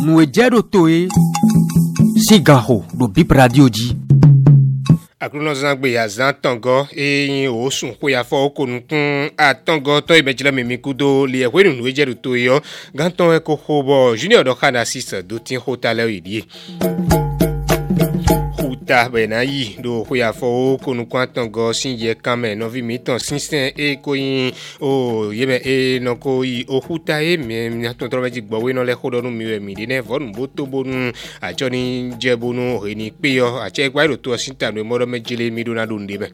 nous ejero toe sigaho do bip radio ji akuno zangbe ya zantango eyin osun ko ya fo ko nkun atango to ibejila memikudo le ehwe nu ejero toe yo ganton e ko hobo junior do kana assist do tin hotale idie ta bena yi do ko ya fo ko nu kwantan go sinje kame no vi mitan sinsen e ko yin o yebe e no ko yi o huta e me na to trobe ji gbowe no le ko do nu mi we mi de ne vonu bo to bonu ajo ni je bonu o ni pe yo ache gba ro to sinta no mo do mejile mi do na do ndebe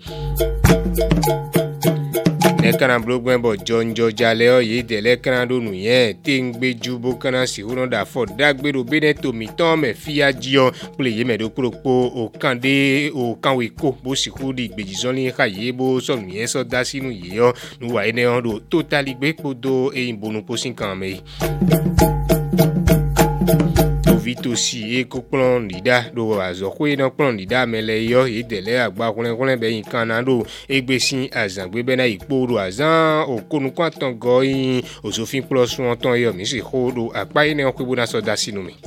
lekana blogben bo jonjo jale o yi de lekana do nu yen te ngbe ju bo kana si hu no da fo dagbero bene to mi ton me fia jio ple ye me do kropo o kande o kanwe ko bo si hu di gbeji zoni ka ye bo so nu yen so da sinu ye yo nu wa ene on do totally gbe podo e imbonu posin kan me vite aussi e ko plan lida do azo ko ina plan lida mele yo e dele agba kunle be yin kan na do egbesin azangbe be na ipo do azan o konu kwatan go yin osofin plus won ton yo mi si ho do apa ina ko bu na so da sinu mi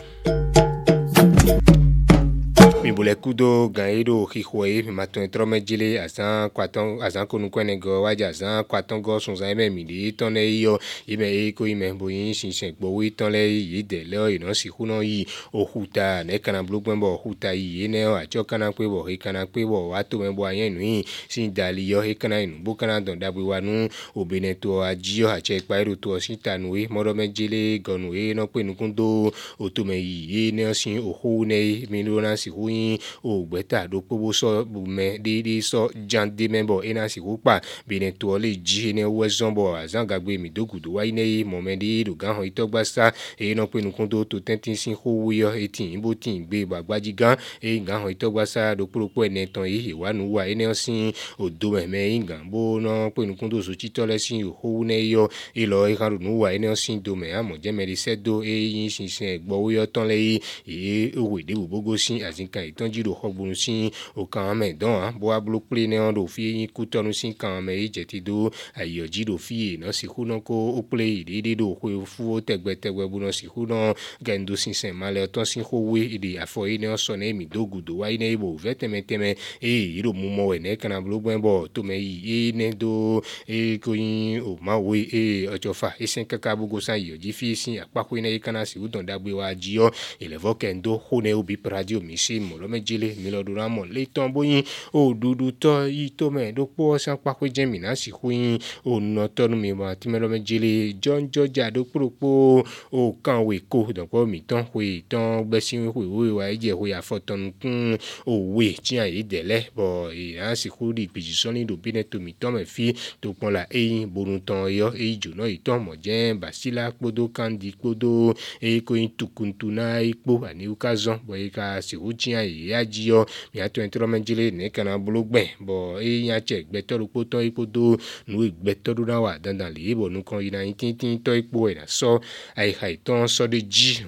mi bole kudo ganyedo hihwe mi maton trome jile azan kwaton azan konu kwene go waja azan kwaton go sun zan me mi di ton le yo ime e ko ime boyin sinsen gbowi ton le yi de le ino si huno yi ohuta ne kana blogben bo ohuta yi ne o ajo kana pe bo he kana pe bo wa to me bo ayen nu sin dali yo he kana inu bo kana don dabwe wanu obene to ajio ache pa ero to sinta nu e moro me jile gonu e no pe nu kundo otume yi ne sin ohu ne mi no na si hu o gbeta do pobo so bume de so jande member ina si kupa bine to le ji ne wezombo azangagbe mi dogudo wa ine momedi do gan ho itogbasa e no penu kondo to tentin sin ho yo etin bo tin gbe gbagbaji gan e gan ho itogbasa do poropo ene ton yi wanu wa ine sin odo meme ingan bo no penu kondo so titole sin ho ne yo e lo e kan nu wa ine sin do me amo je meri sedo e yin sin sin gbo yo ton le e owe de bogo sin azinka itonji do hogbun sin o kan me don bo ablo ple ne on do fi yin ku tonu sin kan me ijeti do ayoji do fi no si hu no ko o ple ide do ko fu o tegbe bu no si hu no gendo sin sen male ton sin ho we ide afo ine o so ne mi dogudo wa ine ibo vetemeteme e iro mu mo we ne kan ablo gben bo to me yi ne do e ko yin o ma we e ojofa isen kaka bugo san yoji fi sin apako ine kan si udon dagbe wa jio elevo kendo ho ne obi radio mi si mo lo mejile mi lo dura mo le ton boyin o dudu to yi to me do po san pa ko jemi na si huyin o no tonu mi ma ti me lo mejile jonjo ja do propo o kan we ko don po mi ton we ton gbe sin we wa je we afotonu kun o we ti an yi dele bo e an si hu di pejison ni do bine to mi ton me fi to pon la eyin borun ton yo e jo no iton mo je basila podo kandi podo e ko yin tukuntu na ipo ani ukazon bo e ka si hu ti an ya jiyo mi ato entro menjile ne kana blogben bo e yan che gbetoru po ton ipo do nu gbetoru na wa dandan le bo nu kan yin tin to ipo e na so ai hai ton so de ji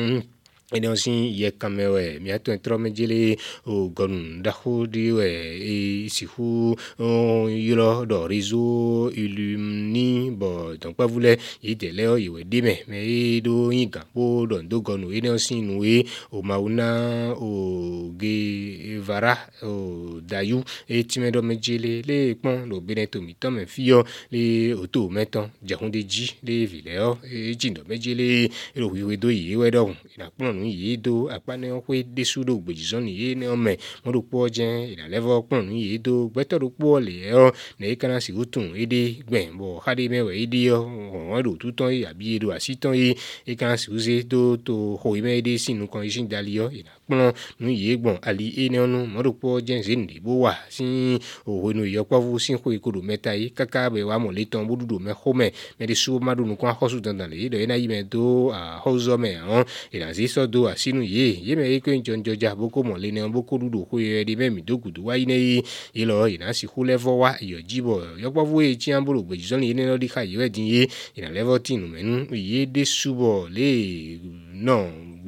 ene osin ye kamewe mi ato entro menjile o gon da ho di we e si hu yiro do rizo ilumni bo donc pas voulait idele o iwe dime me do yinga bo don do gonu ene osin nu e o mauna o ge vara o dayu e timedo menjile le pon lo beneto mi to me fio le oto meton jahunde ji le vileo e jindo menjile ro wiwe do yi we do ina pon yi do apane o we desu do gbejison yi ne o me mo do po je ila level pon yi do gbeto do po le o ne kana si utun ede gben bo hade mewe ede o won do tuton yi abi do asiton yi e kana si uze do to ho ime ede sinu kan isin dali o ila pon nu yi gbon ali e ne onu mo do po je nde bo wa sin o we nu yo povu sin ko ikodo meta yi kaka be wa mo le ton bodudo me home me de su madu nu kan hosu dandan le do ena yi me do a hozo me on ila zi so do asinu ye me ko njonjo ja boko mo le ne boko dudu ko ye di me mi dogudu wa ine ilo ina si hu level wa yo jibo yo povu e ti ambolo gbejison ni ne lo di ka ye din ye ina level tin menu ye de subo le no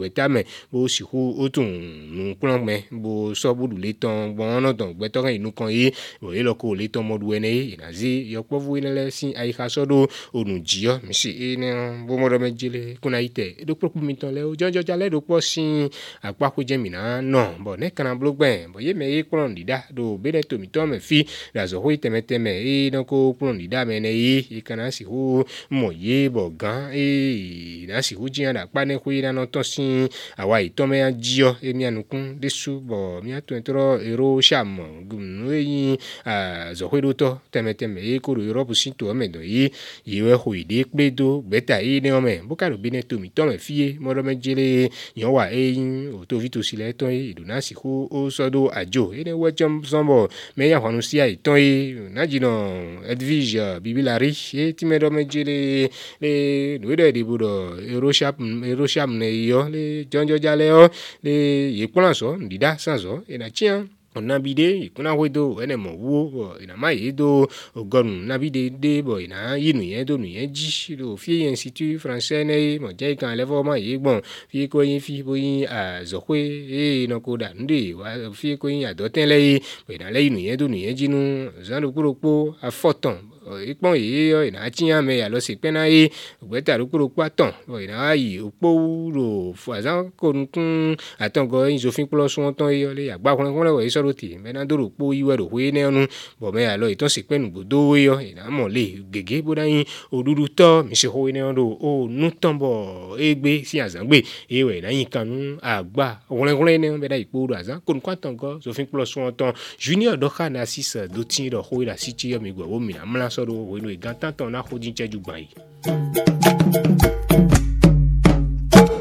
gbeta me bo si hu otun nu plan me bo so bu le ton bon no ton gbeto kan inu kan yi bo e lo ko le ton modu ene ina zi yo povu ina le sin ai ka so do onu jio mi si ene bo mo do me jile kuna ite do pro mi ton le o jojo jale do po sin apa ko je mi na no bo ne kana blogben bo ye me e klon dida do be de to mi to me fi da zo ho ite me e no ko klon dida me ne yi kana si hu mo ye bo gan e na si hu jian da pa ne ku ina no to sin awa ito me ajio e mi anukun desu bo mi ato entro ero sham gum yi zo ho do to teme e ko ro Europe sin to me do yi we ho ide pe do beta yi ne o me bo ka do bi ne to mi to me fi mo do me jele yan wa e o to vito si le to yi do na si hu o so do ajo e ne we jam sombo me ya hanu si ai to yi na ji no Edwige bibilari e ti me do me jele le do de budo ero sham ne yo le jonjo jale o le ye plan so ndida sanzo e na chian on abide kuna wedo ene mo wo ina mai do ogon nabide de bo ina yinu yen do nu yen ji do fi institut français ne mo je kan le fo ma yi gbon fi ko yin fi bo yin a zo kwe e no ko da ndi wa fi ko yin a do ten le bo ina le yinu yen do nu yen ji nu zan do kuropo a foton ipon yi ina chian me ya lo se pe na yi gbeta do kuropo aton bo ina yi opo ro fo azan ko nkun atongo yin zo fin plus won ton yi le agba kun le we roti mena do po iwe ro we ne onu bo me alo ito se penu bodo yo ina mo le gege boda yin odudu to mi se ho ne odo o nu tombo egbe si azangbe ewe na yin kanu agba onle ne be da ipo do azan kun kwa tongo so fin plus won ton junior do kha na 6 do tin do ho ila si ti yo mi gbo wo mi na mla so do wo no igan tan ton na ho din cheju gban yi